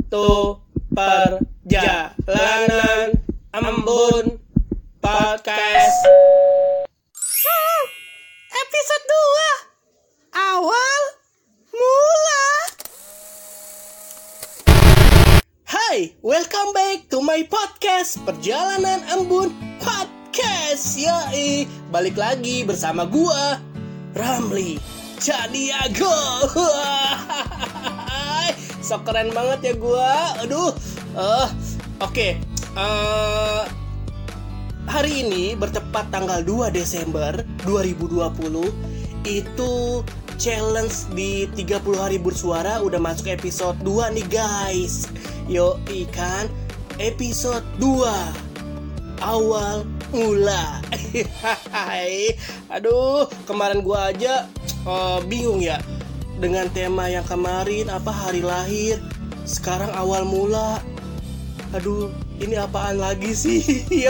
to Perjalanan Embun Podcast. Episode 2 Awal Mula. Hai, welcome back to my podcast Perjalanan Embun Podcast. Yoi, balik lagi bersama gua Ramli Chadiago. So keren banget ya gua. Aduh. Oke. Hari ini bertepat tanggal 2 Desember 2020. Itu challenge di 30 hari bersuara udah masuk episode 2 nih guys. Yoi kan, episode 2 Awal Mula. Aduh, kemarin gua aja bingung ya dengan tema yang kemarin, apa hari lahir, sekarang awal mula. Aduh, ini apaan lagi sih? Ya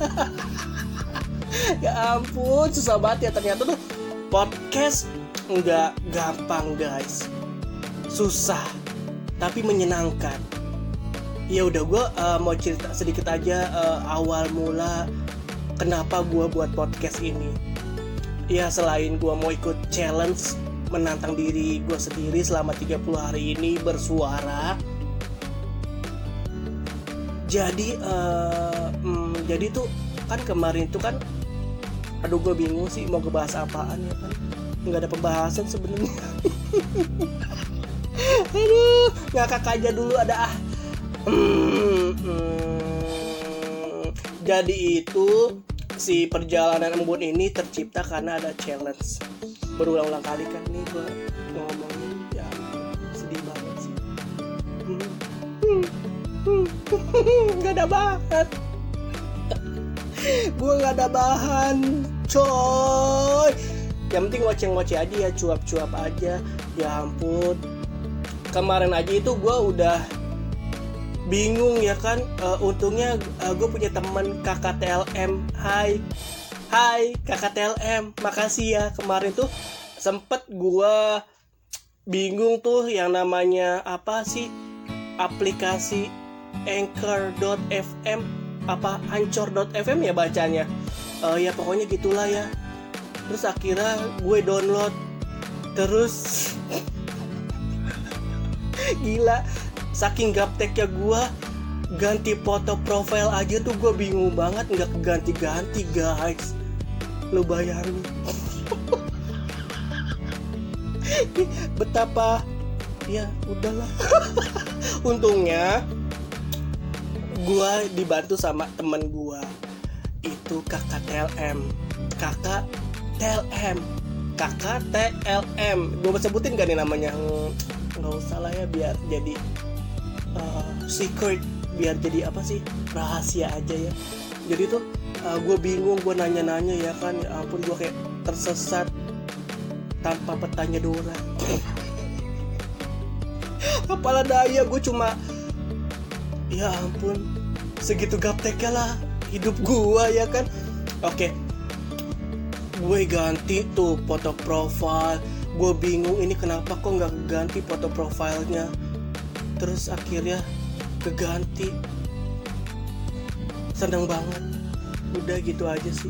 ya ampun, susah banget ya ternyata tuh podcast nggak gampang guys, susah tapi menyenangkan. Ya udah, gue mau cerita sedikit aja awal mula kenapa gue buat podcast ini. Ya selain gue mau ikut challenge menantang diri gue sendiri selama 30 hari ini bersuara. Jadi tuh kan kemarin tuh kan, aduh gue bingung sih mau ngebahas apaan ya kan, nggak ada pembahasan sebenarnya. Aduh, ngakak aja dulu ada Jadi itu si Perjalanan Embun ini tercipta karena ada challenge. Berulang-ulang kali kan nih gue ngomongin, ya sedih banget sih. Gak ada bahan. Gue gak ada bahan, coy. Yang penting ngoceh-ngoceh aja ya, cuap-cuap aja. Ya ampun, kemarin aja itu gue udah bingung ya kan. Untungnya gue punya teman kakak TLM. Hai kakak TLM, makasih ya. Kemarin tuh sempet gue bingung tuh yang namanya apa sih, aplikasi Anchor.fm apa Anchor.fm ya bacanya. Ya pokoknya gitulah ya. Terus akhirnya gue download. Terus gila, saking gapteknya gue, ganti foto profile aja tuh gue bingung banget, nggak keganti-ganti guys. Lu bayangin betapa, ya udahlah. Untungnya gue dibantu sama temen gue itu kakak TLM. Gue mau sebutin gak nih namanya? Nggak usah lah ya, biar jadi secret, biar jadi apa sih, rahasia aja ya. Jadi tuh gue bingung, gue nanya-nanya ya kan, ya ampun gue kayak tersesat tanpa petanya Dora. Apalah daya, gue cuma, ya ampun, segitu gapteknya lah hidup gue ya kan. Oke, gue ganti tuh foto profile. Gue bingung ini kenapa kok nggak ganti foto profilnya. Terus akhirnya keganti. Seneng banget. Udah gitu aja sih.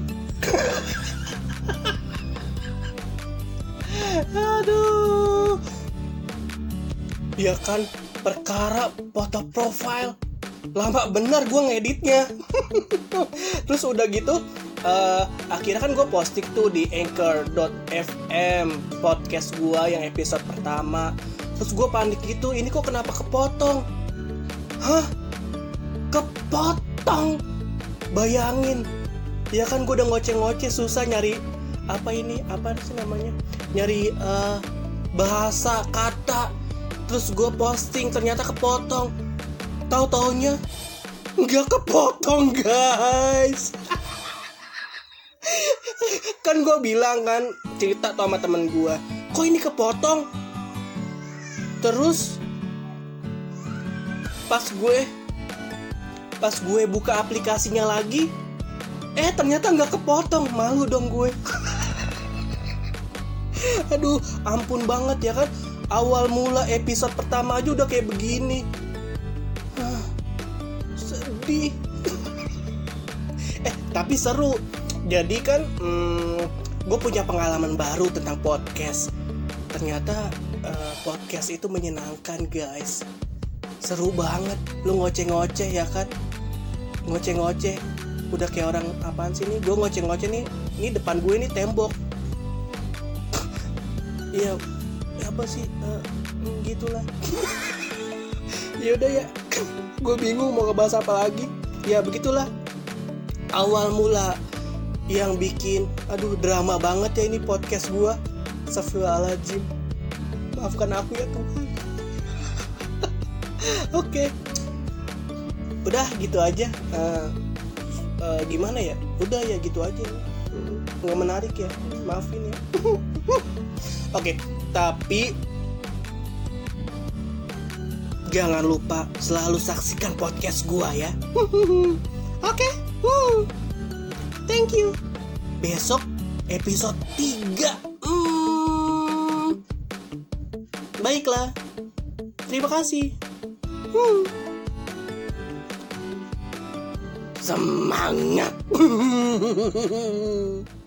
Aduh. Ya kan, perkara foto profile lama bener gue ngeditnya. Terus udah gitu akhirnya kan gue posting tuh di Anchor.fm podcast gue yang episode pertama. Terus gue panik gitu, ini kok kenapa kepotong? Hah? Kepotong? Bayangin. Ya kan gue udah ngoceh-ngoceh, susah nyari apa ini, apa sih namanya, nyari bahasa kata. Terus gue posting, ternyata kepotong. Tahu-taunya nggak kepotong guys. Kan gue bilang kan, cerita tuh sama temen gue, kok ini kepotong. Terus pas gue buka aplikasinya lagi, ternyata nggak kepotong. Malu dong gue. Aduh, ampun banget ya kan. Awal mula episode pertama aja udah kayak begini. lebih. Tapi seru. Jadi kan gue punya pengalaman baru tentang podcast. Ternyata podcast itu menyenangkan guys. Seru banget. Lu ngoceh-ngoceh ya kan. Ngoceh-ngoceh. Udah kayak orang apaan sih nih. Gue ngoceh-ngoceh nih. Ini depan gue nih tembok. Iya apa sih gitulah. Ya udah ya. Gue bingung mau ngebahas apa lagi. Ya begitulah. Awal mula yang bikin drama banget ya ini podcast gue. Astagfirullahaladzim. Maafkan aku ya Tuhan. Oke. Udah gitu aja. Gimana ya? Udah ya gitu aja. Nggak menarik ya. Maafin ya. Oke. Tapi jangan lupa selalu saksikan podcast gue ya. Oke. Thank you. Besok episode 3. Baiklah. Terima kasih. Semangat.